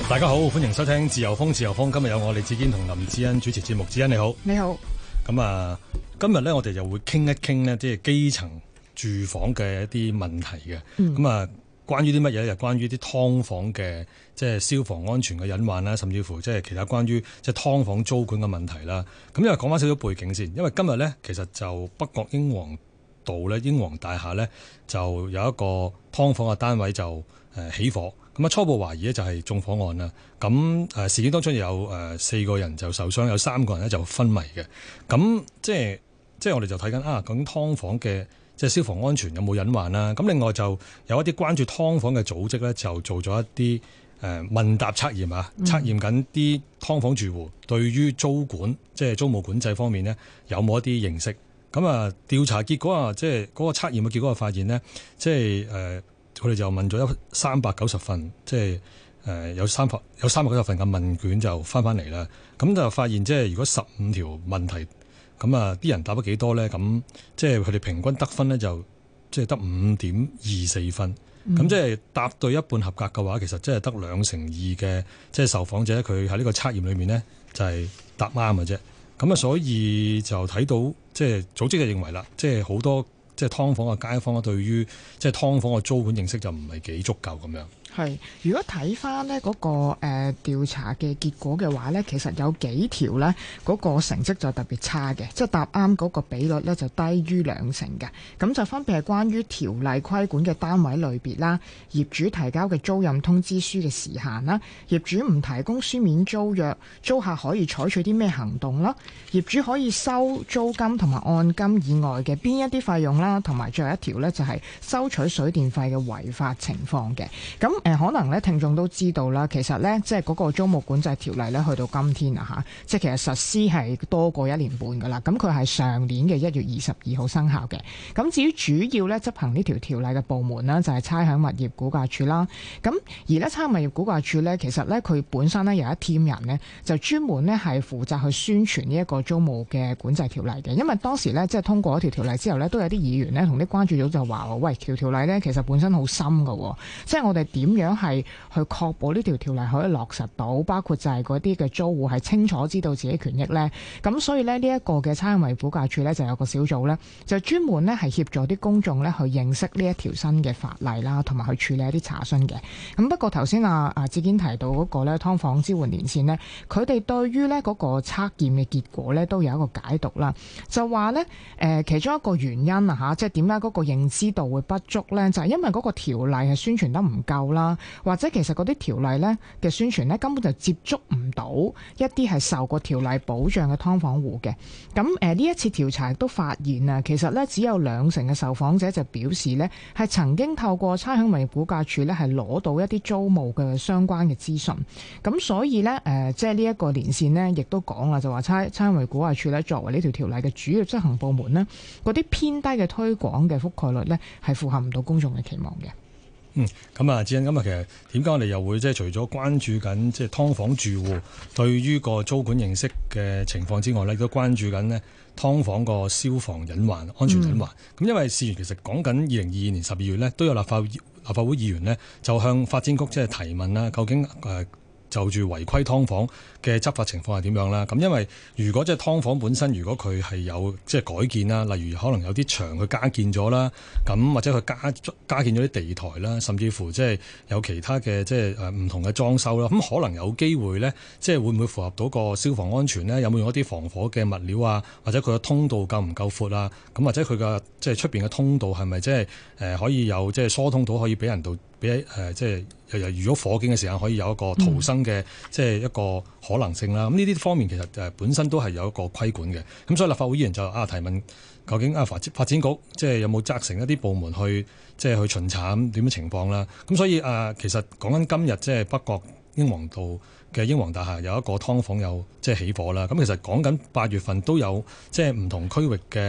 大家好，歡迎收聽自由風。自由風今日有我李志堅同林志恩主持節目。志恩你好。 你好。 咁啊，今日咧我哋就會傾一傾呢，即係基層住房嘅一啲問題嘅。咁啊，關於啲乜嘢咧？就關於啲劏房嘅即係消防安全嘅隱患啦，甚至乎即係其他關於即係劏房租管嘅問題啦。咁因為講翻少少背景先，因為今日咧其實就北角英皇道咧英皇大廈咧就有一個劏房嘅單位就起火。咁啊，初步懷疑咧就係縱火案啦。咁事件當中有4個人就受傷，有3個人咧就昏迷嘅。咁即係我哋就睇緊究竟劏房嘅即係消防安全有冇隱患啦？咁另外就有一啲關注劏房嘅組織咧，就做咗一啲問答測驗啊，測驗緊啲劏房住戶對於租管即係租務管制方面呢，有冇一啲認識。咁啊，調查結果啊，即係嗰個測驗嘅結果就發現呢，即係佢哋就問咗390份，即係有390份嘅問卷就翻嚟啦。咁就發現即係如果15條問題，咁啊啲人答咗幾多咧？咁即係佢哋平均得分咧就即係得5.24分。咁即係答對一半合格嘅話，其實即係得2/2嘅即係受訪者佢喺呢個測驗裏面咧就係答啱嘅啫。咁啊，所以就睇到即係組織就認為啦，即係好多即係劏房嘅街坊對於即係劏房嘅租管認識就唔係幾足夠咁樣。 係，如果睇翻呢嗰個調查嘅結果嘅話呢，其實有幾條呢嗰個成績就特別差嘅，即係答啱嗰個比率呢就低於2成嘅。咁就分別係關於條例規管嘅單位類別啦，業主提交嘅租賃通知書嘅時限啦，業主唔提供書面租約，租客可以採取啲咩行動啦，業主可以收租金同埋按金以外嘅邊一啲費用啦，同埋最後一條呢就係收取水電費嘅違法情況嘅。咁可能咧，聽眾都知道啦，其實咧，即係嗰個租務管制條例咧，去到今天啊嚇，即係其實實施係多過1年半噶啦。咁佢係上年嘅1月22號生效嘅。咁至於主要咧執行呢條例嘅部門呢，就係差餉物業估價署啦。咁而咧差餉物業估價署咧，其實咧佢本身咧有一 team 人呢，就專門咧係負責去宣傳呢一個租務嘅管制條例嘅。因為當時咧即係通過一條例之後咧，都有啲議員咧同啲關注組就話：喂，條例咧其實本身好深噶，即係我哋點樣係去確保呢條例可以落實到，包括就係嗰啲嘅租戶係清楚知道自己權益呢。咁所以呢，呢一個嘅差餉物業估價署呢，就有個小組呢，就專門呢係協助啲公眾呢去認識呢一條新嘅法例啦，同埋去處理一啲查詢嘅。咁不過頭先志堅提到嗰個呢劏房支援連線呢，佢哋對於呢嗰個測驗嘅結果呢，都有一個解讀啦，就話呢，其中一個原因即係點解嗰個認知度會不足呢？就係因為嗰個條例係宣傳得唔夠啦。或者其實嗰啲條例呢嘅宣傳呢，根本就接觸唔到一啲係受過條例保障嘅劏房戶嘅。咁呢一次調查亦都發現啊，其實呢只有2成嘅受訪者就表示呢係曾經透過差餉物業估價署呢係攞到一啲租務嘅相關嘅資訊。咁所以呢，即係呢一個連線呢，亦都講啦，就話差餉物業估價署呢作為呢條條例嘅主要執行部門呢，嗰啲偏低嘅推廣嘅覆蓋率呢，係符合唔到公眾嘅期望嘅。 咁啊，志恩，咁啊，其實點解我哋又會即係除咗關注緊即係劏房住戶對於個租管認識嘅情況之外咧，亦都關注緊呢劏房個消防隱患、安全隱患。咁因為事緣其實講緊2022年12月呢，都有立法會議員呢就向發展局即係提問啦，究竟就住違規劏房嘅執法情況係點樣啦？咁因為如果即係劏房本身，如果佢係有即係改建啦，例如可能有啲牆佢加建咗啦，咁或者佢加建咗啲地台啦，甚至乎即係有其他嘅即係唔同嘅裝修啦，咁可能有機會咧，即係會唔會符合到個消防安全咧？有冇用一啲防火嘅物料啊？或者佢嘅通道夠唔夠闊啊？咁或者佢嘅即係出邊嘅通道係咪即係可以有即係疏通到可以俾人到俾即係如果火警嘅時間可以有一個逃生嘅即係一個可能性啦。咁呢啲方面其實本身都係有一個規管嘅。咁所以立法會議員就提問，究竟發展局即係有冇責成一啲部門去即係去巡查點樣情況啦？咁所以其實講緊今日即係北角英皇道嘅英皇大廈有一個劏房有即係起火啦。咁其實講緊8月份都有即係唔同區域嘅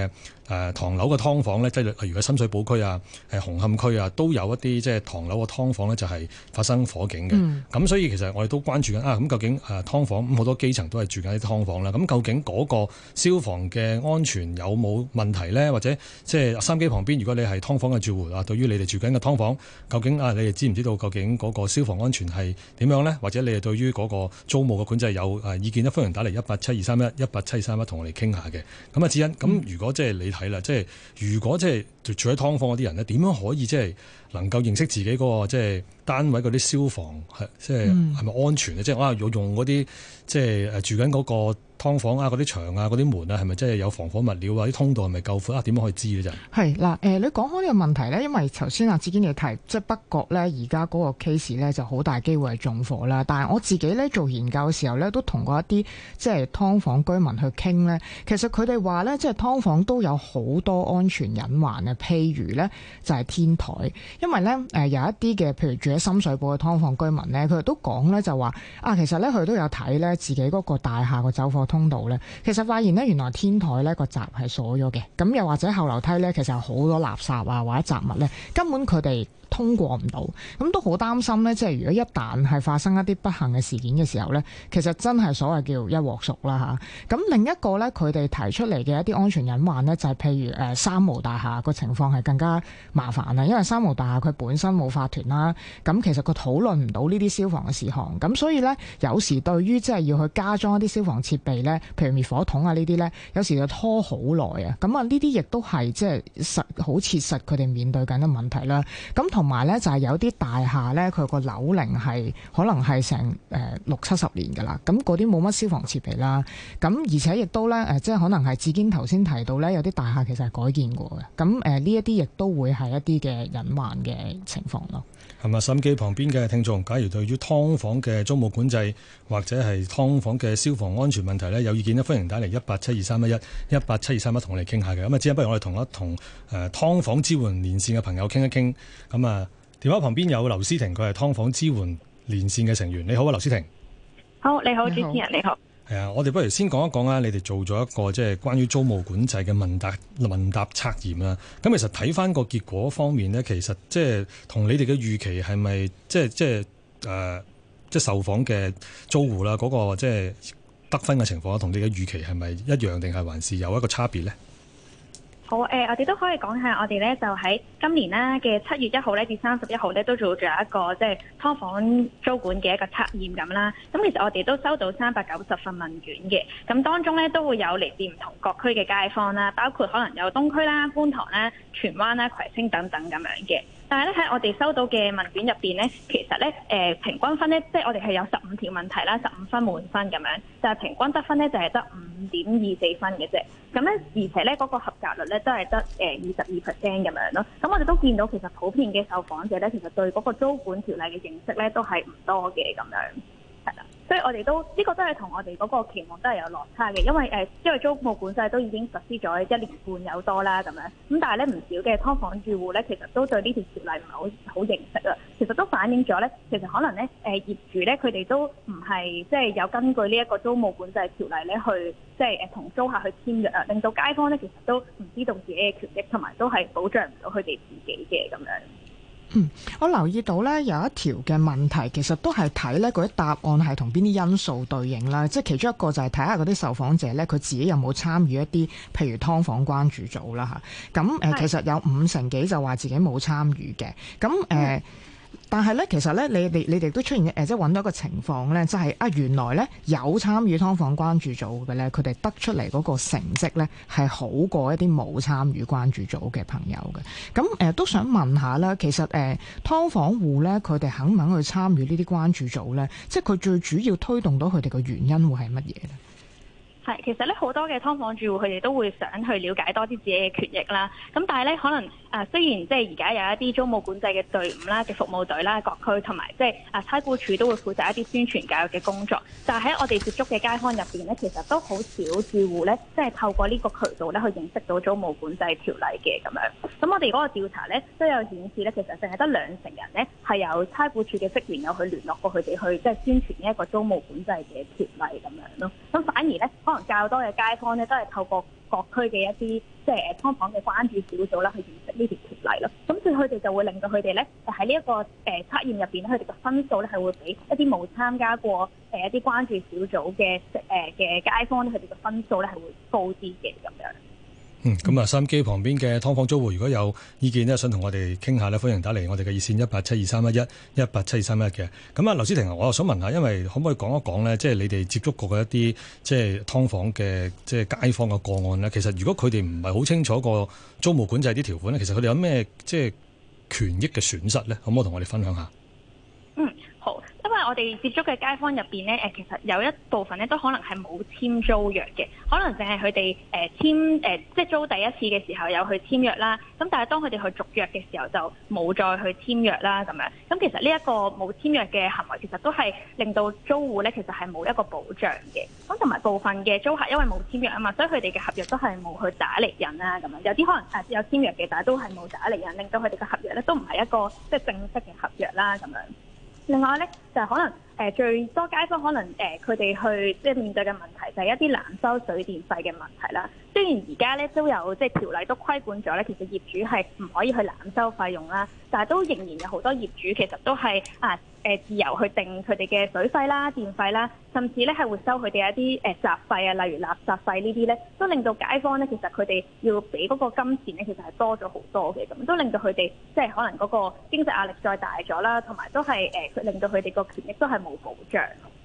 唐樓嘅劏房咧，即係例如喺深水埗區啊、紅磡區啊，都有一啲即係唐樓嘅劏房咧，就係發生火警嘅。咁所以其實我哋都關注緊咁究竟劏房咁好多基層都係住緊啲劏房啦。咁究竟嗰個消防嘅安全有冇問題咧？或者即係收音機旁邊，如果你係劏房嘅住戶對於你哋住緊嘅劏房，究竟你哋知唔知道究竟嗰個消防安全係點樣咧？或者你哋對於嗰個租務嘅管制有意見咧？歡迎打嚟1872311，1872311同我哋傾下嘅。咁啊，智恩，咁如果即係你睇啦，即係如果即係住喺劏房嗰啲人咧，點樣可以即係能夠認識自己嗰個即係單位嗰啲消防係咪安全咧？即係我用嗰啲即係住緊嗰個劏房嗰啲牆嗰啲門係咪真係有防火物料啲通道係咪夠闊點樣可以知咧？就係嗱，你講開呢個問題咧，因為頭先阿志堅你提，即係北角咧而家嗰個 case 咧就好大機會係縱火啦。但係我自己咧做研究嘅時候咧，都同過一啲即係劏房居民去傾咧，其實佢哋話咧，即係劏房都有好多安全隱患嘅，譬如咧就係天台，因為咧有一啲嘅，譬如住喺深水埗嘅劏房居民咧，佢哋都講咧就話其實咧佢都有睇咧自己嗰個大廈個走火通道咧，其實發現咧原來天台咧個閘係鎖咗嘅，咁又或者後樓梯咧其實有好多垃圾或者雜物咧，根本佢哋通過唔到，咁都好擔心咧。即係如果一旦係發生一啲不幸嘅事件嘅時候咧，其實真係所謂叫一鑊熟啦嚇。咁另一個咧，佢哋提出嚟嘅一啲安全隱患咧，就係譬如三無大廈個情況係更加麻煩啦，因為三無大廈佢本身冇法團啦，咁其實佢討論唔到呢啲消防嘅事項，咁所以咧有時對於即係要去加裝一啲消防設備咧，譬如滅火筒呢啲咧，有時就拖好耐啊。咁呢啲亦都係即係好切實佢哋面對緊嘅問題啦。咁同埋咧就係有啲大廈咧，佢個樓齡係可能係成60-70年㗎啦。咁嗰啲冇乜消防設備啦。咁而且亦都咧即係可能係志堅頭先提到咧，有啲大廈其實係改建過嘅。咁呢一啲亦都會係一啲嘅隱患嘅情況咯。 係咪？收音機旁邊嘅聽眾，假如對於劏房嘅租務管制或者係劏房嘅消防安全問題咧有意見咧，歡迎打嚟1872311，1872311同我哋傾下嘅。咁之後不如我哋同劏房支援連線嘅朋友傾一傾。咁電話旁邊有劉詩婷，佢係劏房支援連線嘅成員。你好啊，劉詩婷。 好，你好，主持人你好。 係啊，我哋不如先講一講你哋做咗一個即係關於租務管制嘅問答測驗啦。咁其實睇翻個結果方面呢，其實即係同你哋嘅預期係咪即係受訪嘅租戶啦，嗰個即係得分嘅情況同你嘅預期係咪一樣，定係還是有一個差別呢？ 好，我哋都可以講下，我哋咧就喺今年啦嘅7月1號咧至31號咧都做咗一個即係劏房租管嘅一個測驗咁啦。咁其實我哋都收到390份問卷嘅，咁當中咧都會有嚟自唔同各區嘅街坊啦，包括可能有東區啦、觀塘啦、荃灣啦、葵青等等咁樣嘅。但係咧喺我哋收到嘅問卷入邊咧，其實咧平均分咧，即係我哋係有15條問題啦，15分滿分咁樣，但係平均得分咧就係得5.24分嘅啫。咁咧而且咧嗰個合格率咧都係得22% 咁樣咯。咁我哋都見到其實普遍嘅受訪者咧，其實對嗰個租管條例嘅認識咧都係唔多嘅咁樣，係啦。所以我哋都呢個都係同我哋嗰個期望都係有落差嘅，因為租務管制都已經實施咗1年半有多啦咁樣，咁但係咧唔少嘅劏房住戶咧，其實都對呢條條例唔係好認識啊。其實都反映咗咧，其實可能咧業主咧佢哋都唔係即係有根據呢一個租務管制條例咧去即係同租客去簽約啊，令到街坊咧其實都唔知道自己嘅權益，同埋都係保障唔到佢哋自己嘅咁樣。 我留意到咧有一條嘅問題，其實都係睇咧嗰啲答案係同邊啲因素對應啦。即係其中一個就係睇下嗰啲受訪者咧，佢自己有冇參與一啲譬如劏房關注組啦嚇。咁其實有5成幾就話自己冇參與嘅。咁但係咧，其實咧，你哋都出現即係揾到一個情況咧，就係原來咧有參與劏房關注組嘅咧，佢哋得出嚟嗰個成績咧係好過一啲冇參與關注組嘅朋友嘅。咁都想問下啦，其實劏房戶咧，佢哋肯唔肯去參與呢啲關注組咧？即係佢最主要推動到佢哋嘅原因會係乜嘢咧？ 係，其實咧好多嘅劏房住戶佢哋都會想去了解多啲自己嘅權益啦。咁但係咧可能雖然即係而家有一啲租務管制嘅隊伍啦、嘅服務隊啦、各區同埋即係差估署都會負責一啲宣傳教育嘅工作。但係喺我哋接觸嘅街坊入邊咧，其實都好少住戶咧，即係透過呢個渠道咧去認識到租務管制條例嘅咁樣。咁我哋嗰個調查咧都有顯示咧，其實淨係得2成人咧係有差估署嘅職員有去聯絡過佢哋去即係宣傳呢一個租務管制嘅條例咁樣咯。咁反而咧可能能較多嘅街坊咧都係透過各區嘅一啲即係劏房嘅關注小組啦，去認識呢條條例咯。咁所以佢哋就會令到佢哋咧喺呢一個測驗入邊咧，佢哋嘅分數咧係會比一啲冇參加過一啲關注小組嘅街坊咧，佢哋嘅分數咧係會高啲嘅咁樣。 咁啊，收音機旁邊嘅劏房租戶如果有意見咧，想同我哋傾下咧，歡迎打嚟我哋嘅熱線1872311，1872311嘅。咁啊，劉思婷，我又想問下，因為可唔可以講一講咧，即係你哋接觸過嘅一啲即係劏房嘅即係街坊嘅個案咧？其實如果佢哋唔係好清楚個租務管制啲條款咧，其實佢哋有咩即係權益嘅損失咧？可唔可以同我哋分享下？ 好。因為我哋接觸嘅街坊入邊咧，其實有一部分咧都可能係冇簽租約嘅，可能淨係佢哋即係租第一次嘅時候有去簽約啦。咁但係當佢哋去續約嘅時候就冇再去簽約啦咁樣。咁其實呢一個冇簽約嘅行為，其實都係令到租戶咧其實係冇一個保障嘅。咁同埋部分嘅租客因為冇簽約啊嘛，所以佢哋嘅合約都係冇去打釐印啦咁樣。有啲可能有簽約嘅，但係都係冇打釐印，令到佢哋嘅合約咧都唔係一個即係正式嘅合約啦咁樣。另外咧，就係可能最多街坊可能佢哋去即係面對嘅問題就係一啲濫收水電費嘅問題啦。雖然而家咧都有即係條例都規管咗咧，其實業主係唔可以去濫收費用啦，但係都仍然有好多業主其實都係自由去定佢哋嘅水費啦、電費啦，甚至咧係會收佢哋一啲雜費啊，例如垃圾費呢啲咧，都令到街坊咧其實佢哋要俾嗰個金錢咧，其實係多咗好多嘅，咁都令到佢哋即係可能嗰個經濟壓力再大咗啦，同埋都係令到佢哋個權益都係冇保障。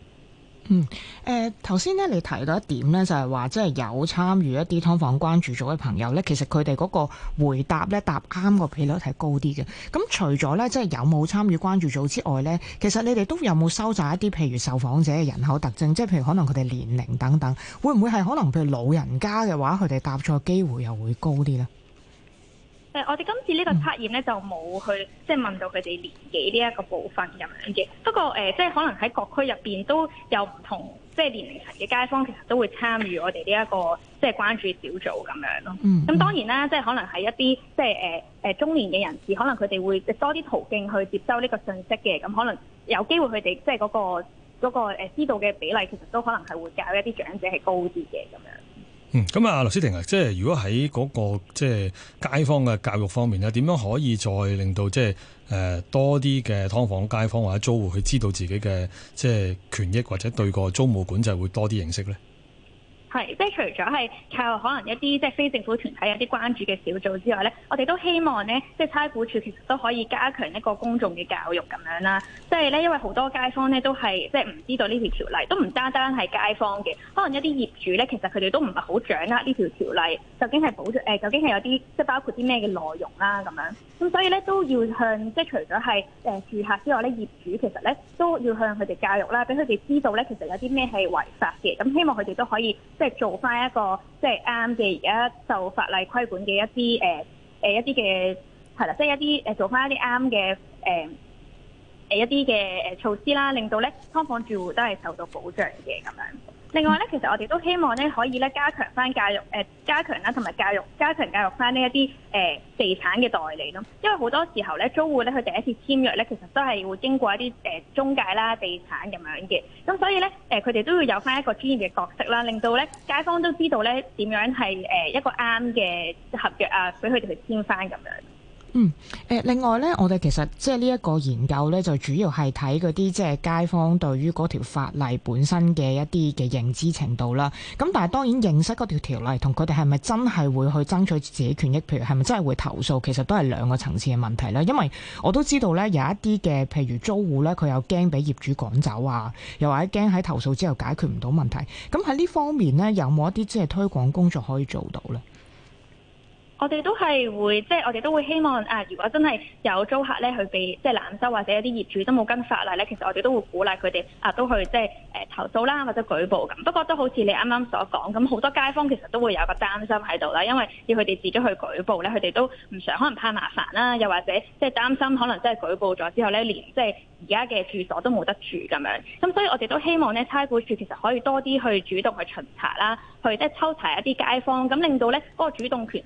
頭先咧你提到一點咧，就係話即係有參與一啲劏房關注組嘅朋友咧，其實佢哋嗰個回答咧答啱個比率係高啲嘅。咁除咗咧即係有冇參與關注組之外咧，其實你哋都有冇收集一啲譬如受訪者嘅人口特徵，即係譬如可能佢哋年齡等等，會唔會係可能譬如老人家嘅話，佢哋答錯機會又會高啲咧？ 我哋今次呢個測驗咧就冇去即係問到佢哋年紀呢一個部分咁樣嘅。不過即係可能喺各區入邊都有唔同即係年齡層嘅街坊，其實都會參與我哋呢一個即係關注小組咁樣咯。咁當然啦，即係可能係一啲即係中年嘅人士，可能佢哋會多啲途徑去接收呢個信息嘅。咁可能有機會佢哋即係嗰個知道嘅比例，其實都可能係會較一啲長者係高啲嘅咁樣。 咁啊，劉思婷啊，即係如果喺嗰個即係街坊嘅教育方面咧，點樣可以再令到即係多啲嘅劏房街坊或者租戶去知道自己嘅即係權益，或者對個租務管制會多啲認識咧？ 係，即係除咗係靠可能一啲即係非政府團體有啲關注嘅小組之外咧，我哋都希望咧，即係差估署其實都可以加強一個公眾嘅教育咁樣啦。即係咧，因為好多街坊咧都係即係唔知道呢條條例，都唔單單係街坊嘅，可能一啲業主咧，其實佢哋都唔係好掌握呢條條例究竟係究竟係有啲即係包括啲咩嘅內容啦咁樣。咁所以咧都要向即係除咗係住客之外咧，業主其實咧都要向佢哋教育啦，俾佢哋知道咧其實有啲咩係違法嘅。咁希望佢哋都可以即係做翻一個即係啱嘅而家受法例規管嘅一啲一啲嘅係啦，即係一啲做翻一啲啱嘅一啲嘅措施啦，令到咧劏房住戶都係受到保障嘅咁樣。另外咧，其實我哋都希望咧可以咧加強翻教育，加強啦同埋加強教育翻呢一啲地產嘅代理咯。因為好多時候咧，租戶咧佢第一次簽約咧，其實都係會經過一啲中介啦、地產咁樣嘅。咁所以咧，佢哋都要有翻一個專業嘅角色啦，令到咧街坊都知道咧點樣係一個啱嘅合約啊，俾佢哋去簽翻咁樣。 另外咧，我哋其實即係呢一個研究咧，就主要係睇嗰啲即係街坊對於嗰條法例本身嘅一啲嘅認知程度啦。咁但係當然認識嗰條條例同佢哋係咪真係會去爭取自己權益，譬如係咪真係會投訴，其實都係兩個層次嘅問題啦。因為我都知道咧，有一啲嘅譬如租戶咧，佢又驚俾業主趕走啊，又或者驚喺投訴之後解決唔到問題。咁喺呢方面咧，有冇一啲即係推廣工作可以做到咧？ 我哋都係會，即係我哋都會希望如果真係有租客咧去被即係濫收，或者一啲業主都冇跟法例咧，其實我哋都會鼓勵佢哋都去即係投訴啦，或者舉報咁。不過都好似你啱啱所講，咁好多街坊其實都會有個擔心喺度啦，因為要佢哋自己去舉報咧，佢哋都唔想可能怕麻煩啦，又或者即係擔心可能真係舉報咗之後咧，連即係而家嘅住所都冇得住咁樣。咁所以我哋都希望咧，差估署其實可以多啲去主動去巡查啦，去即係抽查一啲街坊，咁令到咧嗰個主動權就唔係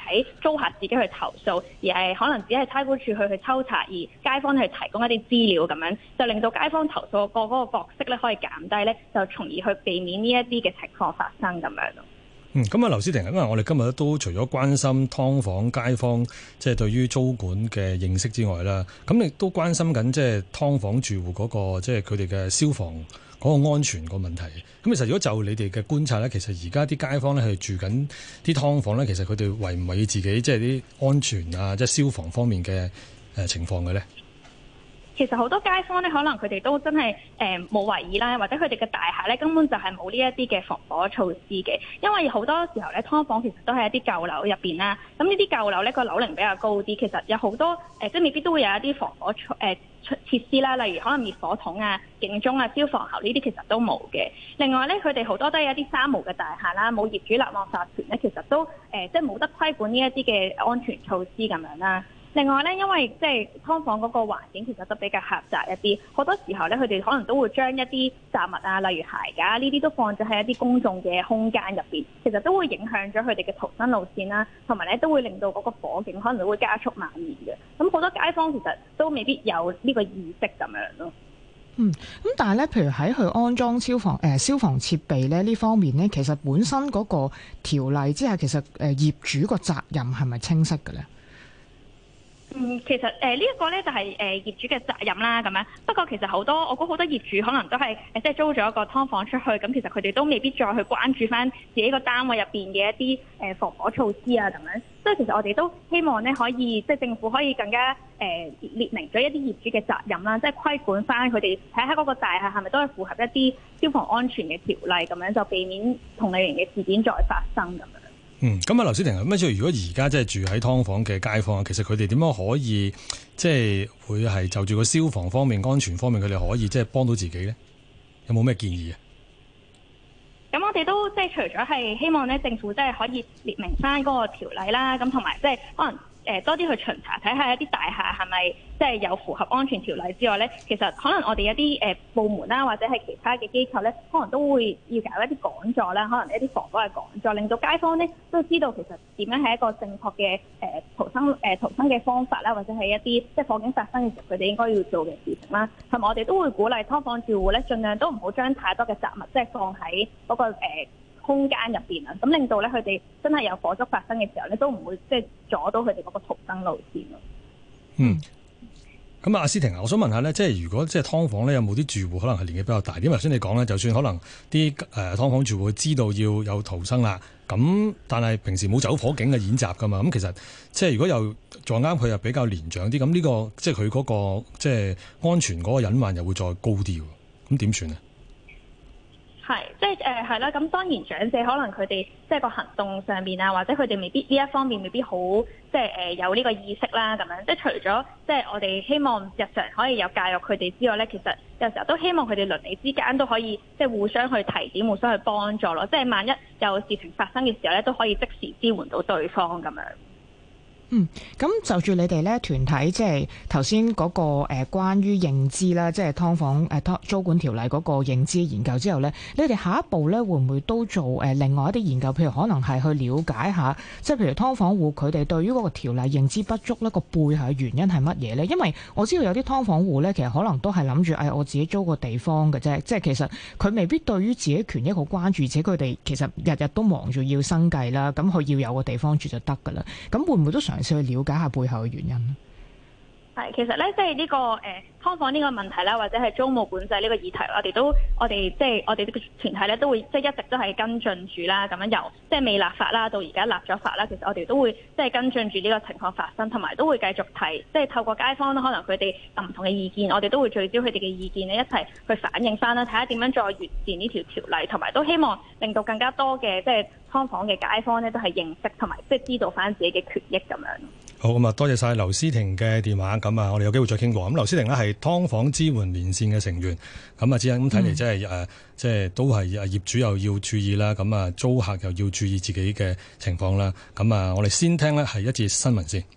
喺租客自己去投訴，而係可能只係差估署去抽查，而街坊去提供一啲資料咁樣，就令到街坊投訴個嗰個角色咧可以減低咧，就從而去避免呢一啲嘅情況發生咁樣咯。 咁啊，劉思婷，因為我哋今日都除咗關心劏房街坊即係對於租管嘅認識之外啦，咁亦都關心緊即係劏房住戶嗰個即係佢哋嘅消防嗰個安全個問題。咁其實如果就你哋嘅觀察咧，其實而家啲街坊咧係住緊啲劏房咧，其實佢哋為唔為自己即係啲安全啊，即係消防方面嘅情況嘅咧？ 其實好多街坊咧，可能佢哋都真係冇懷疑啦，或者佢哋嘅大廈咧根本就係冇呢一啲嘅防火措施嘅。因為好多時候咧，劏房其實都係一啲舊樓入邊啦。咁呢啲舊樓咧個樓齡比較高啲，其實有好多即係未必都會有一啲防火設施啦，例如可能滅火筒啊、警鐘啊、消防喉呢啲其實都冇嘅。另外咧，佢哋好多都係一啲三無嘅大廈啦，冇業主立案法團咧，其實都即係冇得規管呢一啲嘅安全措施咁樣啦。另外咧，因為即係劏房嗰個環境其實都比較狹窄一啲，好多時候咧佢哋可能都會將一啲雜物啊，例如鞋架呢啲都放咗喺一啲公眾嘅空間入邊，其實都會影響咗佢哋嘅逃生路線啦，同埋咧都會令到嗰個火警可能會加速蔓延嘅。咁好多街坊其實都未必有呢個意識咁樣咯。 咁但係咧，譬如喺佢安裝消防設備咧呢方面咧，其實本身嗰個條例之下，其實業主個責任係咪清晰嘅咧？ 其實呢一個咧就係業主嘅責任啦，咁樣。不過其實我估好多業主可能都係即係租咗一個劏房出去，咁其實佢哋都未必再去關注翻自己個單位入邊嘅一啲防火措施啊，咁樣。所以其實我哋都希望咧可以即係政府可以更加列明咗一啲業主嘅責任啦，即係規管翻佢哋睇下嗰個大廈係咪都係符合一啲消防安全嘅條例，咁樣就避免同類型嘅事件再發生咁樣。 咁啊，劉思婷，咁即係如果而家即係住喺劏房嘅街坊，其實佢哋點樣可以即係會係就住個消防方面、安全方面，佢哋可以即係幫到自己咧？有冇咩建議啊？ 咁我哋都即係除咗係希望咧，政府即係可以列明翻嗰個條例啦，咁同埋即係可能多啲去巡查睇下一啲大廈係咪即係有符合安全條例之外咧，其實可能我哋一啲部門啦，或者係其他嘅機構咧，可能都會要搞一啲講座啦，可能一啲防火嘅講座，令到街坊咧都知道其實點樣係一個正確嘅逃生嘅方法啦，或者係一啲即係火警發生嘅時候佢哋應該要做嘅事情啦。同埋我哋都會鼓勵劏房住戶咧，盡量都唔好將太多嘅雜物即係放喺嗰個空間入邊啊，咁令到咧佢哋真係有火燭發生嘅時候咧，都唔會即係阻到佢哋嗰個逃生路線咯。 咁阿思婷啊，我想問下咧，即係如果即係劏房咧，有冇啲住戶可能係年紀比較大啲？因為頭先你講咧，就算可能啲劏房住戶知道要有逃生啦，咁但係平時冇走火警嘅演習噶嘛，咁其實即係如果又撞啱佢又比較年長啲，咁呢個即係佢嗰個即係安全嗰個隱患又會再高啲喎，咁點算啊？ 係，即係係啦。咁當然長者可能佢哋即係個行動上面啊，或者佢哋未必呢一方面未必好即係有呢個意識啦。咁樣即係除咗即係我哋希望日常可以有教育佢哋之外咧，其實有時候都希望佢哋鄰里之間都可以即係互相去提點、互相去幫助咯。即係萬一有事情發生嘅時候咧，都可以即時支援到對方咁樣。 咁就住你哋咧團體，即係頭先嗰個關於認知啦，即係劏房租管條例嗰個認知研究之後咧，你哋下一步咧會唔會都做另外一啲研究？譬如可能係去了解下，即係譬如劏房戶佢哋對於嗰個條例認知不足咧，個背後嘅原因係乜嘢咧？因為我知道有啲劏房戶咧，其實可能都係諗住我自己租個地方嘅啫，即係其實佢未必對於自己權益好關注，而且佢哋其實日日都忙住要生計啦，咁佢要有個地方住就得㗎啦。咁會唔會都嘗試去了解下背後嘅原因？ 係，其實咧，即係呢個劏房呢個問題啦，或者係租務管制呢個議題，我哋即係我哋呢個團體咧，都會即係一直都係跟進住啦。咁樣由即係未立法啦，到而家立咗法啦，其實我哋都會即係跟進住呢個情況發生，同埋都會繼續提，即係透過街坊啦，可能佢哋唔同嘅意見，我哋都會聚焦佢哋嘅意見咧，一齊去反映翻啦，睇下點樣再完善呢條條例，同埋都希望令到更加多嘅即係劏房嘅街坊咧，都係認識同埋即係知道翻自己嘅權益咁樣。 好，咁啊，多謝晒劉思婷嘅電話。咁啊，我哋有機會再傾過。咁劉思婷呢係劏房支援連線嘅成員。咁啊，只係咁睇嚟，即係都係業主又要注意啦。咁啊，租客又要注意自己嘅情況啦。咁啊，我哋先聽呢係一節新聞先。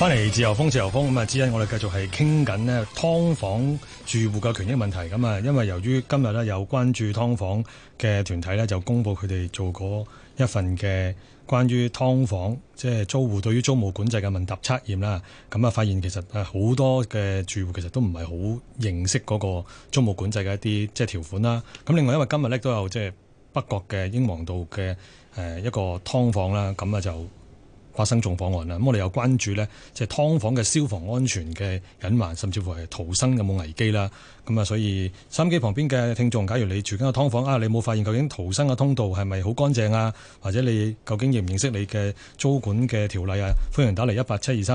翻嚟自由風，咁啊，之一我哋繼續係傾緊呢劏房住戶嘅權益問題。咁啊，因為由於今日呢有關注劏房嘅團體呢，就公布佢哋做過一份嘅關於劏房即係租戶對於租務管制嘅問答測驗啦。咁啊，發現其實好多嘅住戶其實都唔係好認識嗰個租務管制嘅一啲即係條款啦。咁另外因為今日呢都有即係北角嘅英皇道嘅一個劏房啦，咁啊就發生縱火案啦，咁我哋有關注呢，即係劏房嘅消防安全嘅隱患，甚至乎係逃生有冇危機啦。咁啊，所以收音機旁邊嘅聽眾，假如你住緊個劏房你冇發現究竟逃生嘅通道係咪好乾淨啊？或者你究竟認唔認識你嘅租管嘅條例啊？歡迎打嚟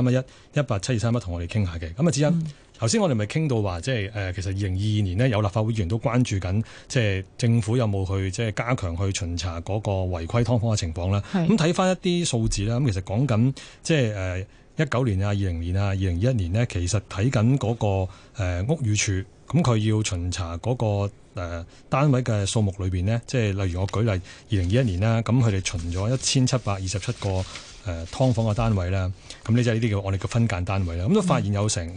1872311同我哋傾下嘅。咁啊，子欣。頭先我哋咪傾到話，即係其實2022年呢，有立法會議員都關注緊，即係政府有冇去即係加強去巡查嗰個違規劏房嘅情況啦。咁睇翻一啲數字啦，咁其實講緊即係19年啊、20年啊、2021年呢，其實睇緊嗰個屋宇署，咁佢要巡查嗰個單位嘅數目裏邊呢，即係例如我舉例2021年啦，咁佢哋巡咗1727個劏房嘅單位啦，咁呢就係呢啲叫我哋嘅分間單位啦，咁都發現有成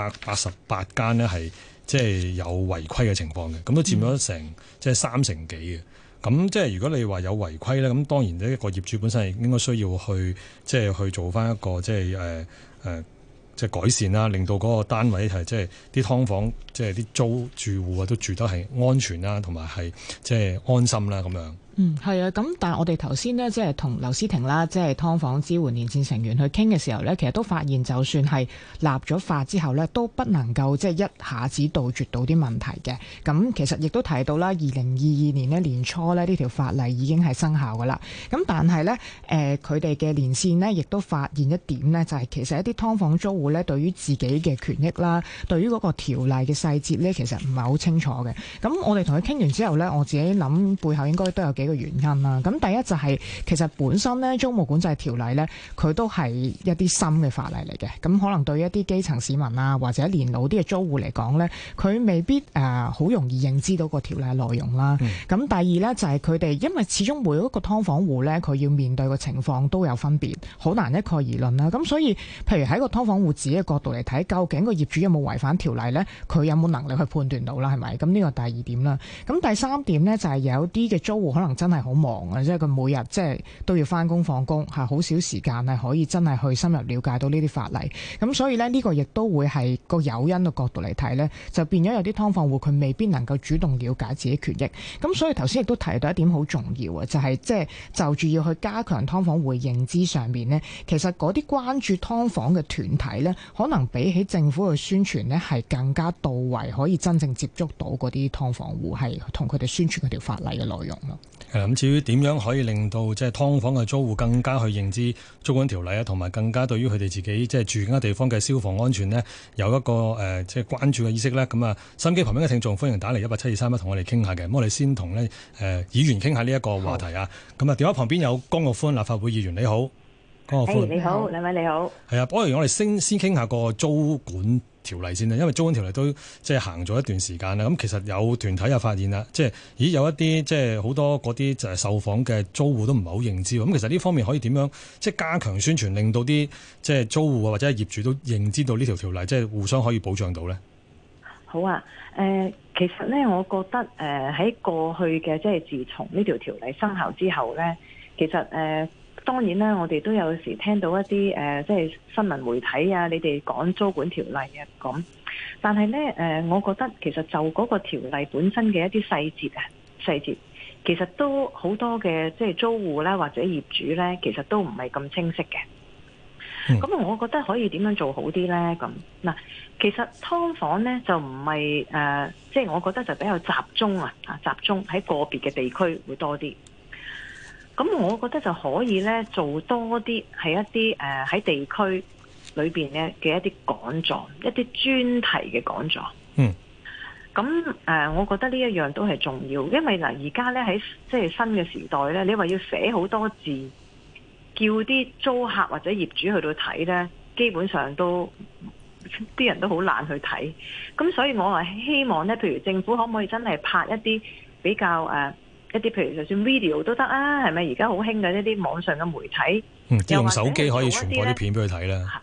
588間呢係即係有違規嘅情況嘅，咁都佔咗成即係3成幾嘅。咁即係如果你話有違規咧，咁當然呢一個業主本身係應該需要去即係去做翻一個即係即係改善啦，令到嗰個單位係即係啲劏房即係啲租住戶啊都住得係安全啦，同埋係即係安心啦咁樣。 係啊，咁但係我哋頭先呢，即係同劉思婷啦，即係劏房支援連線成員去傾嘅時候呢，其實都發現就算係立咗法之後呢，都不能夠即係一下子杜絕到啲問題嘅。咁其實亦都提到啦，2022年呢年初呢，呢條法例已經係生效噶啦。咁但係呢，佢哋嘅連線呢，亦都發現一點呢，就係其實一啲劏房租戶呢，對於自己嘅權益啦，對於嗰個條例嘅細節呢，其實唔係好清楚嘅。咁我哋同佢傾完之後呢，我自己諗背後應該都有幾個原因啦。咁第一就係其實本身咧租務管制條例咧，佢都係一啲新嘅法例嚟嘅。咁可能對於一啲基層市民啊，或者年老啲嘅租戶嚟講咧，佢未必好容易認知到個條例內容啦。咁第二咧就係佢哋，因為始終每一個劏房戶咧，佢要面對嘅情況都有分別，好難一概而論啦。咁所以，譬如喺個劏房戶自己嘅角度嚟睇，究竟個業主有冇違反條例咧？佢有冇能力去判斷到啦？係咪？咁呢個第二點啦。咁第三點咧就係有啲嘅租戶可能真係好忙啊，即係佢每日即係都要翻工放工，係好少時間係可以真係去深入了解到呢啲法例。咁所以呢個亦都會係個誘因嘅角度嚟睇呢，就變咗有啲劏房戶佢未必能夠主動了解自己權益。咁所以頭先亦都提到一點好重要啊，就係即係就住要去加強劏房戶認知上面呢，其實嗰啲關注劏房嘅團體呢，可能比起政府嘅宣傳呢係更加到位，可以真正接觸到嗰啲劏房戶，係同佢哋宣傳嗰條法例嘅內容咯。 咁至於點樣可以令到即係劏房嘅租戶更加去認知租管條例啊，同埋更加對於佢哋自己即係住緊嘅地方嘅消防安全呢，有一個即係關注嘅意識呢？咁啊，收音機旁邊嘅聽眾歡迎打嚟18723同我哋傾下嘅。咁我哋先同呢議員傾下呢一個話題啊。咁啊，電話旁邊有江玉歡立法會議員，你好，江玉歡。 你好，兩位你好。係啊， 不如我哋先傾下個租管條例先啦，因為租管條例都即係行咗一段時間啦。咁其實有團體又發現啦，即係有一啲即係好多嗰啲就係受訪嘅租戶都唔係好認知。咁其實呢方面可以點樣即係加強宣傳，令到啲即係租戶或者係業主都認知到呢條條例，即係互相可以保障到呢？ 好啊，其實呢，我覺得喺過去嘅即係自從呢條條例生效之後呢，其實當然啦，我哋都有時聽到一啲即係新聞媒體啊，你哋講租管條例啊咁。但係呢，我覺得其實就嗰個條例本身嘅一啲細節，其實都好多嘅即係租戶啦或者業主呢，其實都唔係咁清晰嘅。咁我覺得可以點樣做好啲呢？咁嗱，其實劏房呢，就唔係即係我覺得就比較集中集中喺個別嘅地區會多啲。咁我覺得就可以咧做多啲係一啲喺地區裏邊咧嘅一啲講座，一啲專題嘅講座。咁我覺得呢一樣都係重要，因為嗱而家咧喺即係新嘅時代咧，你話要寫好多字，叫啲租客或者業主去到睇咧，基本上都啲人都好懶去睇。咁所以我係希望咧，譬如政府可唔可以真係拍一啲比較一啲譬如就算 video 都得啊，係咪而家好興嘅一啲網上嘅媒體， 用手機可以傳播啲片俾佢睇啦。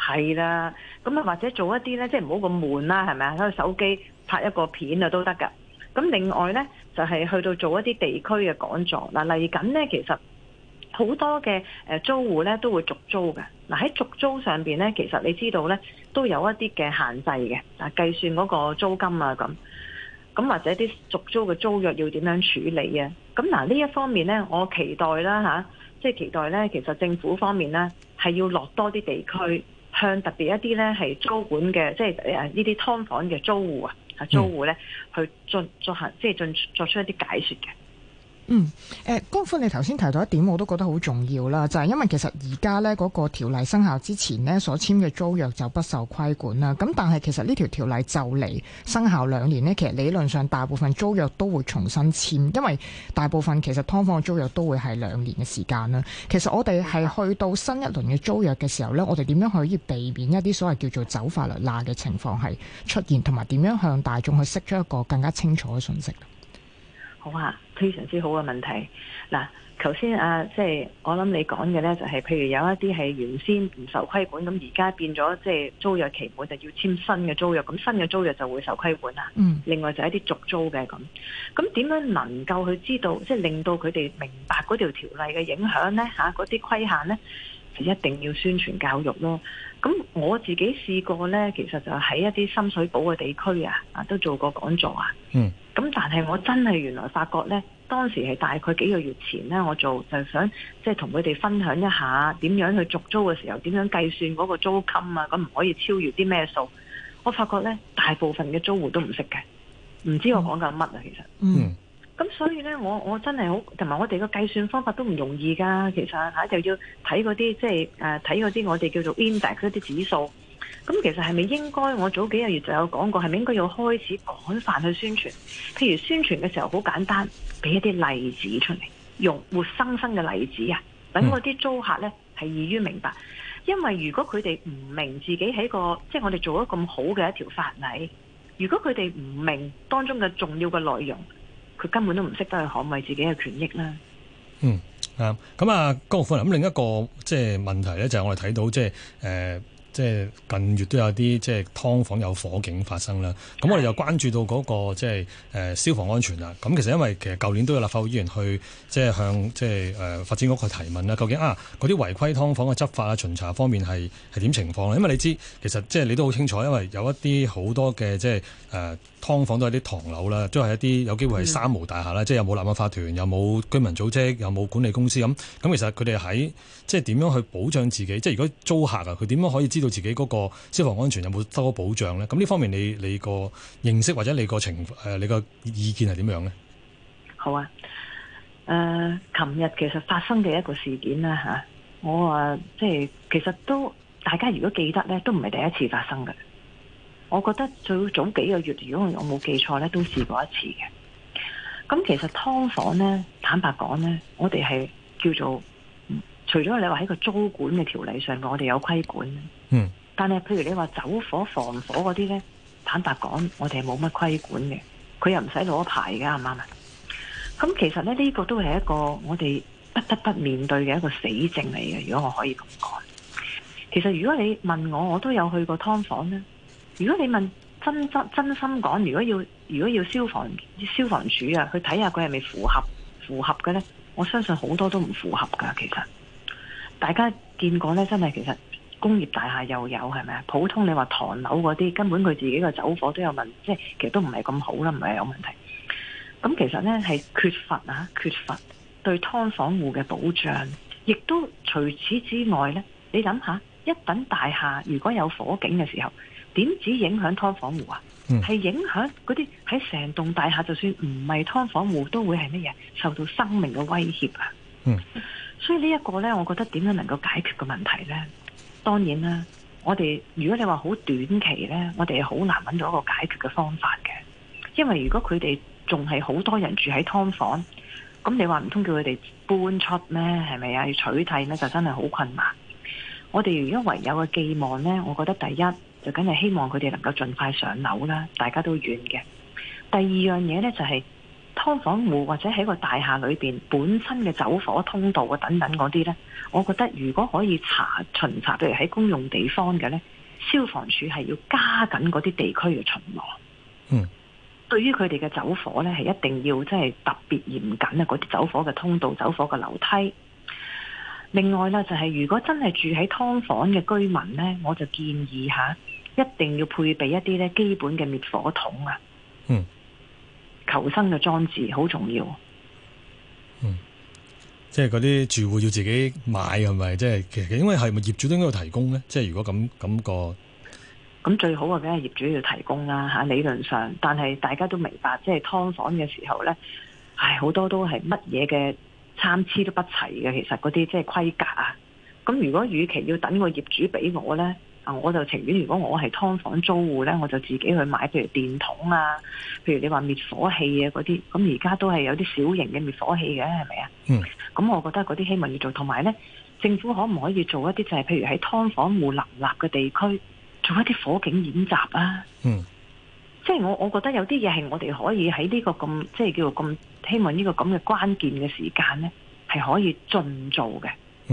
係啦，咁啊或者做一啲咧，即係唔好咁悶啦，係咪啊？攞手機拍一個片啊都得㗎。咁另外咧就係去到做一啲地區嘅講座。嗱，嚟緊咧其實好多嘅租戶咧都會續租嘅。嗱，喺續租上邊咧，其實你知道咧都有一啲嘅限制嘅，計算嗰個租金啊咁或者啲續租嘅租約要點樣處理啊？咁嗱呢一方面咧，我期待啦嚇，即係期待咧，其實政府方面咧係要落多啲地區，向特別一啲咧係租管嘅，即係呢啲劏房嘅租戶啊，租戶咧去作出一啲解説嘅。 江歡你頭先提到一點我都覺得好重要啦，就係因為其實而家呢嗰個條例生效之前呢所簽嘅租約就不受規管啦，咁但係其實呢條例就嚟生效2年呢，其實理論上大部分租約都會重新簽，因為大部分其實劏房嘅租約都會係2年嘅時間啦。其實我哋係去到新一輪嘅租約嘅時候呢，我哋點樣可以避免一啲所謂叫做走法律罅嘅情況係出現，同埋點樣向大眾去釋出一個更加清楚嘅信息？ 好啊，非常之好嘅問題。嗱，頭先即係我諗你講嘅呢，就係譬如有一啲係原先唔受規管，咁而家變咗即係租約期滿就要簽新嘅租約，咁新嘅租約就會受規管啦。另外就係一啲續租嘅咁點樣能夠去知道，即係令到佢哋明白嗰條條例嘅影響呢？嗰啲規限呢，就一定要宣傳教育咯。咁我自己試過呢，其實就喺一啲深水埗嘅地區都做過講座啊。咁但係我真係原來發覺呢，當時係大概幾個月前呢，我就想即係同佢哋分享一下點樣去續租嘅時候，點樣計算嗰個租金啊，咁唔可以超越啲咩數。我發覺呢，大部分嘅租戶都唔識嘅，唔知我講緊乜啊，其實。咁所以呢，我真係好，同埋我哋個計算方法都唔容易㗎。其實就要睇嗰啲即係睇嗰啲我哋叫做 index 嗰啲指數。咁其實係咪應該？我早幾個月就有講過，係咪應該要開始廣泛去宣傳？譬如宣傳嘅時候好簡單，俾一啲例子出嚟，用活生生嘅例子啊，等嗰啲租客呢係易於明白。因為如果佢哋唔明自己喺個即係我哋做咗咁好嘅一條法例，如果佢哋唔明當中嘅重要嘅內容，佢根本都唔識得去捍衞自己嘅權益啦。 咁江玉歡，咁另一個即係問題咧，就係我哋睇到即係近月都有啲即係劏房有火警發生啦。咁我哋又關注到嗰個即係消防安全啦。咁其實因為其實舊年都有立法會議員去即係向即係發展局去提問啦，究竟嗰啲違規劏房嘅執法啊巡查方面係點情況咧？因為你知其實即係你都好清楚，因為有一啲好多嘅即係劏房都係啲唐樓啦，都係一啲有機會係三無大廈啦，即係又冇立案法團，又冇居民組織，又冇管理公司咁。咁其實佢哋喺即係點樣去保障自己？即係如果租客佢點樣可以知道自己嗰個消防安全有冇得到保障咧？咁呢方面你個認識或者你個你個意見係點樣咧？ 好啊，琴日其實發生嘅一個事件啦我話即係其實都大家如果記得咧，都唔係第一次發生嘅。我覺得最早幾個月，如果我冇記錯咧，都試過一次嘅。咁其實劏房咧，坦白講咧，我哋係叫做除咗你話喺個租管嘅條例上，我哋有規管。但係譬如你話走火防火嗰啲咧，坦白講，我哋係冇乜規管嘅。佢又唔使攞牌㗎，啱唔啱啊？咁其實咧，呢個都係一個我哋不得不面對嘅一個死症嚟嘅。如果我可以咁講，其實如果你問我，我都有去過劏房咧。如果你問真心講，如果要消防處去睇下佢係咪符合嘅咧，我相信好多都唔符合噶。其實大家見過咧，真係其實工業大廈又有係咪啊？普通你話唐樓嗰啲，根本佢自己個走火都有問，即係其實都唔係咁好啦，唔係有問題。咁其實咧係缺乏對劏房戶嘅保障，亦都除此之外咧，你諗下，一等大廈如果有火警嘅時候，點止影響劏房戶啊？係影響嗰啲喺成棟大廈，就算唔係劏房戶，都會係乜嘢受到生命嘅威脅啊！所以呢一個呢，我覺得點樣能夠解決個問題呢？當然啦，我哋如果你話好短期呢，我哋係好難揾到一個解決嘅方法嘅，因為如果佢哋仲係好多人住喺劏房，咁你話唔通叫佢哋搬出咩？係咪啊？要取締呢，就真係好困難。我哋如果唯有嘅寄望呢，我覺得第一，就梗係希望佢哋能夠盡快上樓啦，大家都願嘅。第二樣嘢呢，就係劏房戶或者喺個大廈裏邊本身嘅走火通道啊等等嗰啲呢，我覺得如果可以巡查，譬如喺公用地方嘅呢，消防處係要加緊嗰啲地區嘅巡邏。 嗯， 對於佢哋嘅走火呢，係一定要即係特別嚴謹啊！嗰啲走火嘅通道、走火嘅樓梯。另外呢，就係如果真係住喺劏房嘅居民呢，我就建議一定要配備一啲呢基本嘅滅火筒啊。 嗯， 求生嘅裝置好重要。 嗯，即係嗰啲住戶要自己買係咪？即係其實因為係咪業主都應該要提供呢？即係如果咁個。 咁最好嘅梗係業主要提供啦嚇，理論上，但係大家都明白，即係劏房嘅時候呢，好多都係乜嘢嘅參差都不齊嘅，其實嗰啲即係規格啊。咁如果與其要等個業主俾我呢，我就情願如果我係劏房租戶呢，我就自己去買，譬如電筒啊，譬如你話滅火器啊嗰啲，咁而家都係有啲小型嘅滅火器嘅，係咪啊？ 嗯。咁我覺得嗰啲希望要做，同埋呢，政府可唔可以做一啲就係譬如喺劏房戶林立嘅地區，做一啲火警演習啊！即係我覺得有啲嘢係我哋可以喺呢個咁即係叫做咁希望呢個咁嘅關鍵嘅時間呢，係可以盡做嘅。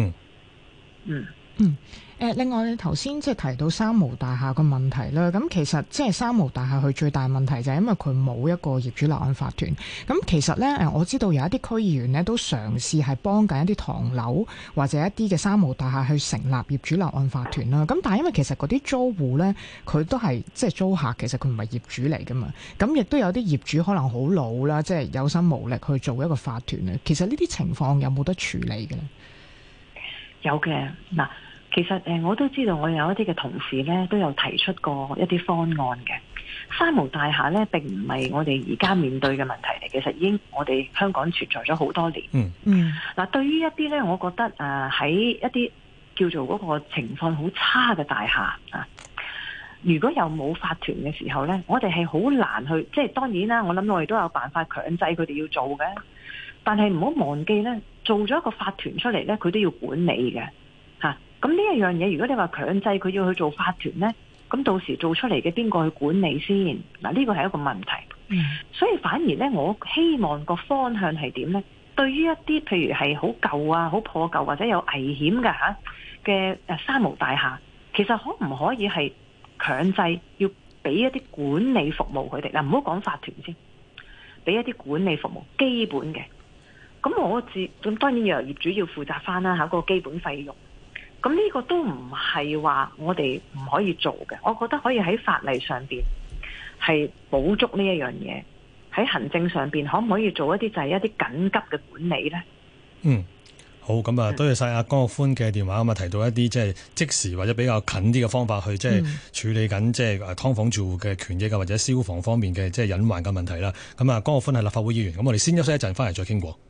另外你頭先即係提到三無大廈個問題啦，咁其實即係三無大廈佢最大問題就係因為佢冇一個業主立案法團。咁其實呢，我知道有一啲區議員呢都嘗試係幫緊一啲唐樓或者一啲嘅三無大廈去成立業主立案法團啦。咁但係因為其實嗰啲租戶呢，佢都係即係租客，其實佢唔係業主嚟噶嘛。咁亦都有啲業主可能好老啦，即係有心無力去做一個法團啊。其實呢啲情況有冇得處理嘅呢？ 有嘅嗱。其實我都知道，我有一啲嘅同事呢都有提出過一啲方案嘅。三無大廈呢並唔係我哋而家面對嘅問題嚟，其實已經我哋香港存在咗好多年。嗱，對於一啲呢，我覺得喺一啲叫做嗰個情況好差嘅大廈啊，如果又冇法團嘅時候呢，我哋係好難去，即係當然啦，我諗我哋都有辦法強制佢哋要做嘅，但係唔好忘記呢，做咗一個法團出嚟呢，佢都要管理嘅。咁呢一樣嘢，如果你話強制佢要去做法團呢，咁到時做出嚟嘅邊個去管理先？嗱，呢個係一個問題。所以反而呢，我希望個方向係點呢？對於一啲譬如係好舊啊、好破舊或者有危險嘅三無大廈，其實可唔可以係強制要俾一啲管理服務佢哋？嗱，唔好講法團先，俾一啲管理服務基本嘅。咁當然由業主要負責翻啦，嗰個基本費用。咁呢個都唔係話我哋唔可以做嘅，我覺得可以喺法例上邊係補足呢一樣嘢，喺行政上邊可唔可以做一啲就係一啲緊急嘅管理呢？ 好，咁啊，多謝晒阿江玉歡嘅電話，咁啊提到一啲即係即時或者比較近啲嘅方法去即係處理緊即係劏房住戶嘅權益啊，或者消防方面嘅即係隱患嘅問題啦。咁啊，江玉歡係立法會議員，咁我哋先休息一陣，翻嚟再傾過。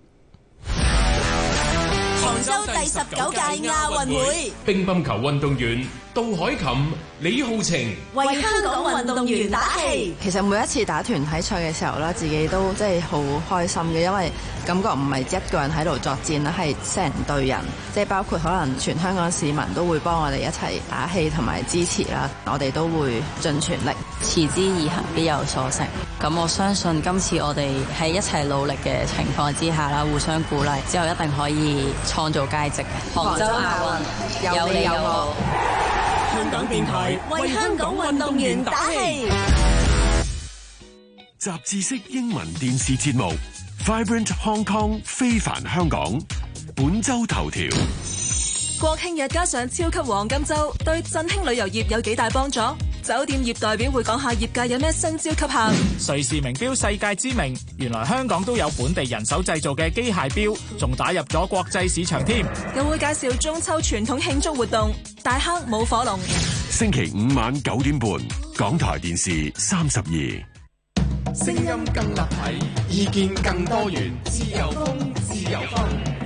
杭州第19屆亞運會， 乒乓球運動員杜海琴、李浩晴為香港運動員打氣。 其實每一次打團體賽嘅時候咧，自己都即係好開心嘅，因為感覺唔係一個人喺度作戰啦，係成隊人，即係包括可能全香港市民都會幫我哋一齊打氣同埋支持啦。我哋都會盡全力， 持之以恆必有所成。咁我相信今次我哋喺一齊努力嘅情況之下啦，互相鼓勵之後，一定可以創造佳績。杭州亞運有你有我。 香港電台為香港運動員打氣。 雜誌式英文電視節目 Vibrant Hong Kong 非凡香港本周頭條。 國慶日加上超級黃金周，對振興旅遊業有幾大幫助？酒店業代表會講下業界有咩新招吸客。 瑞士名錶世界知名，原來香港都有本地人手製造嘅機械錶，仲打入咗國際市場添。 又會介紹中秋傳統慶祝活動，大坑舞火龍。 星期五晚9點半，港台電視32。 聲音更立體，意見更多元，自由風，自由風。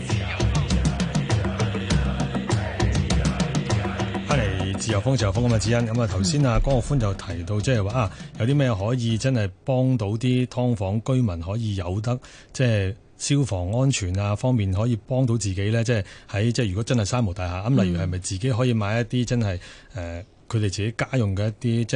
自由風咁嘅指引，咁啊頭先啊江玉歡就提到即係話有啲咩可以真係幫到啲劏房居民可以有得即係消防安全啊方面可以幫到自己咧，即係喺即係如果真係三無大廈咁，例如係咪自己可以買一啲真係佢哋自己家用嘅一啲即係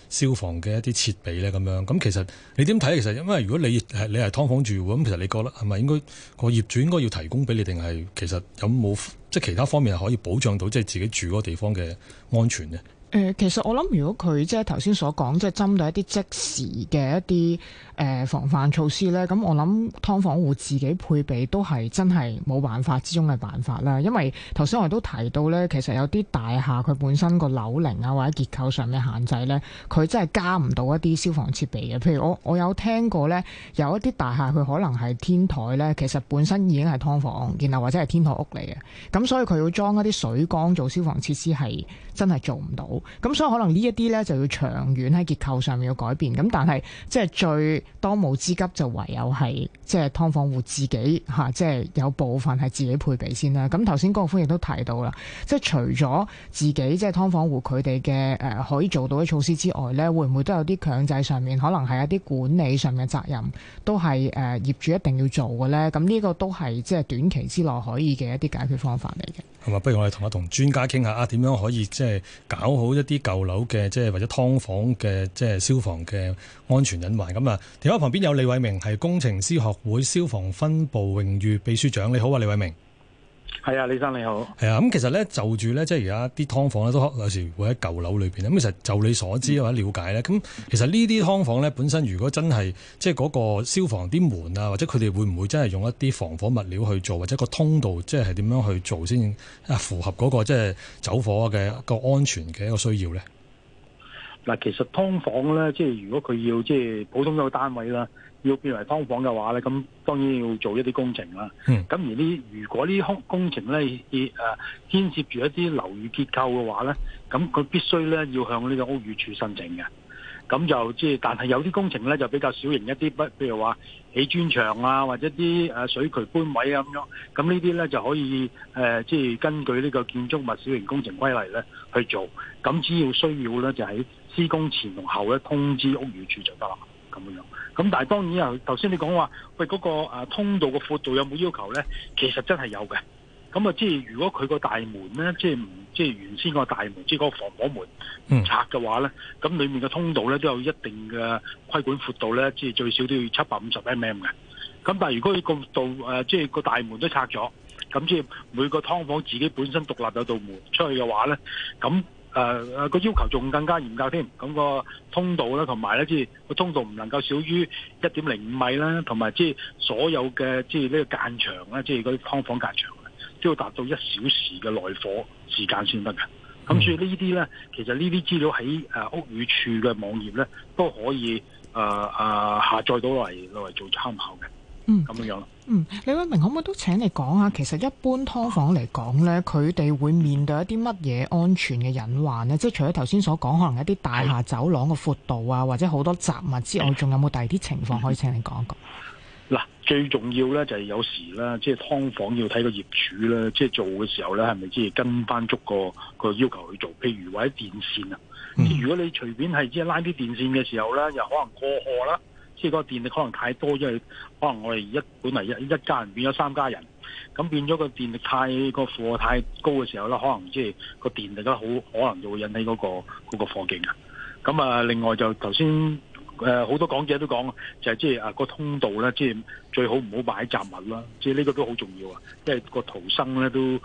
消防嘅一啲設備咧咁樣。咁其實你點睇？其實因為如果你係劏房住戶咁，其實你覺得係咪應該個業主應該要提供俾你，定係其實有冇即係其他方面係可以保障到即係自己住嗰個地方嘅安全呢？ 其實我諗，如果佢即係頭先所講，即係針對一啲即時嘅一啲防範措施咧，咁我諗劏房戶自己配備都係真係冇辦法之中嘅辦法啦。因為頭先我哋都提到咧，其實有啲大廈佢本身個樓齡啊或者結構上面限制咧，佢真係加唔到一啲消防設備嘅。譬如我有聽過咧，有一啲大廈佢可能係天台咧，其實本身已經係劏房，然後或者係天台屋嚟嘅，咁所以佢要裝一啲水缸做消防設施係真係做唔到。咁所以可能呢一啲咧就要長遠喺結構上面要改變。咁但係即係最當務之急就唯有係即係劏房戶自己即係有部分係自己配備先啦。咁頭先高永馥亦都提到啦，即係除咗自己即係劏房戶佢哋嘅可以做到嘅措施之外咧，會唔會都有啲強制上面可能係一啲管理上面嘅責任都係業主一定要做嘅咧？咁呢個都係即係短期之內可以嘅一啲解決方法嚟嘅。 係嘛？不如我哋同專家傾下點樣可以即係搞好一啲舊樓嘅即係或者劏房嘅即係消防嘅安全隱患。咁啊，電話旁邊有李偉明，係工程師學會消防分部榮譽秘書長。你好啊，李偉明。 係啊，李生你好。 係啊，咁其實咧就住咧，即係而家啲劏房咧都有時會喺舊樓裏邊。咁其實就你所知或者了解咧，咁其實呢啲劏房咧本身如果真係即係嗰個消防啲門啊，或者佢哋會唔會真係用一啲防火物料去做，或者個通道即係點樣去做先符合嗰個即係走火嘅個安全嘅一個需要咧？ 嗱，其實劏房咧，即係如果佢要即係普通一個單位啦，要變為劏房嘅話咧，咁當然要做一啲工程啦。咁如果呢工程咧牽涉住一啲樓宇結構嘅話咧，咁佢必須咧要向呢個屋宇署申請嘅。咁就即係，但係有啲工程咧就比較小型一啲，譬如話起磚牆啊，或者啲水渠搬位啊咁樣。咁呢啲咧就可以即係根據呢個建築物小型工程規例咧去做。咁只要需要咧就喺施工前同後咧通知屋宇署就得啦，咁樣。咁但係當然啊，頭先你講話喂嗰個通道嘅闊度有冇要求咧？其實真係有嘅。咁啊，即係如果佢個大門咧，即係原先個大門，即係嗰個防火門拆嘅話咧，咁裡面嘅通道咧都有一定嘅規管闊度咧，即係最少都要750 mm 嘅。咁但係如果佢個道即係個大門都拆咗，咁即係每個劏房自己本身獨立有道門出去嘅話咧，咁個要求仲更加嚴格添。咁個通道咧，同埋咧即係個通道唔能夠少於1.05米啦，同埋即係所有嘅即係呢個間牆啦，即係嗰啲劏房間牆，都要達到1小時嘅內火時間先得嘅。咁所以呢啲咧，其實呢啲資料喺屋宇署嘅網頁咧都可以下載到嚟做參考嘅。咁樣咯。 李偉明，可唔可以都請你講下，其實一般劏房嚟講咧，佢哋會面對一啲乜嘢安全嘅隱患呢？即係除咗頭先所講，可能一啲大廈走廊嘅闊度啊，或者好多雜物之外，仲有冇第二啲情況可以請你講一講？ 嗱，最重要咧就係有時咧，即係劏房要睇個業主咧，即係做嘅時候咧，係咪即係跟翻足個要求去做？譬如話啲電線啊，如果你隨便係即係拉啲電線嘅時候咧，又可能過荷啦，即係嗰個電力可能太多，因為可能我哋本嚟一家人變咗3家人，咁變咗個電力個負荷太高嘅時候咧，可能即係個電力咧好可能就會引起嗰個火警啊。咁啊，另外就頭先。好多講者都講，就係即係個通道咧，即係最好唔好擺雜物啦。即係呢個都好重要啊，因為個逃生咧都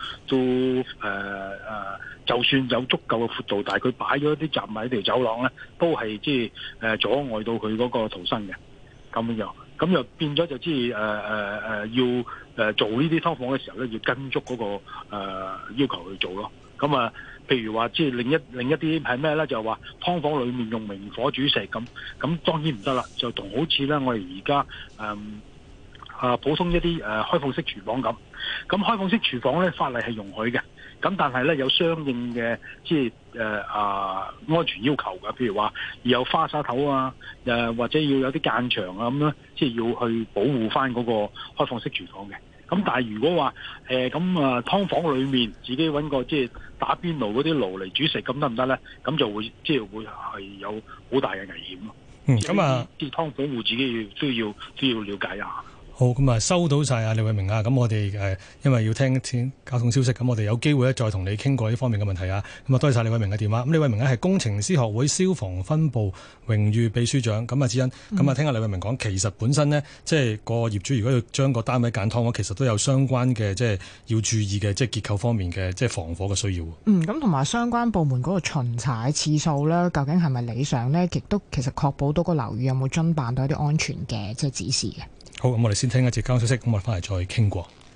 就算有足夠嘅闊度，但係佢擺咗一啲雜物喺條走廊咧，都係即係阻礙到佢嗰個逃生嘅。咁樣，咁又變咗就即係要做呢啲劏房嘅時候咧，要跟足嗰個要求去做咯。咁啊。譬如話，即係另一啲係咩咧？就係話劏房裏面用明火煮食咁當然唔得啦。就同好似咧，我哋而家普通一啲開放式廚房咁。咁開放式廚房咧，法例係容許嘅。咁但係咧有相應嘅即係安全要求㗎。譬如話要有花灑頭啊，或者要有啲間牆啊咁咧，即係要去保護翻嗰個開放式廚房嘅。咁但係如果話劏房裏面自己揾個即係打邊爐嗰啲爐嚟煮食，咁得唔得咧？咁就會即係會係有好大嘅危險咯。 咁啊， 啲劏房戶自己都要了解一下。 好，咁啊收到晒啊李偉明啊，咁我哋因為要聽交通消息，咁我哋有機會咧再同你傾過呢方面嘅問題啊。咁啊多謝晒李偉明嘅電話。咁李偉明呢係工程師學會消防分部榮譽秘書長。咁啊智恩，咁啊聽下李偉明講，其實本身呢，即係個業主如果要將個單位揀劏房，其實都有相關嘅即係要注意嘅即係結構方面嘅即係防火嘅需要。 咁同埋相關部門嗰個巡查次數咧，究竟係咪理想呢？亦都其實確保到個樓宇有冇遵辦到一啲安全嘅即係指示嘅。 好，咁我哋先聽一節交通消息，咁我哋翻嚟再傾過。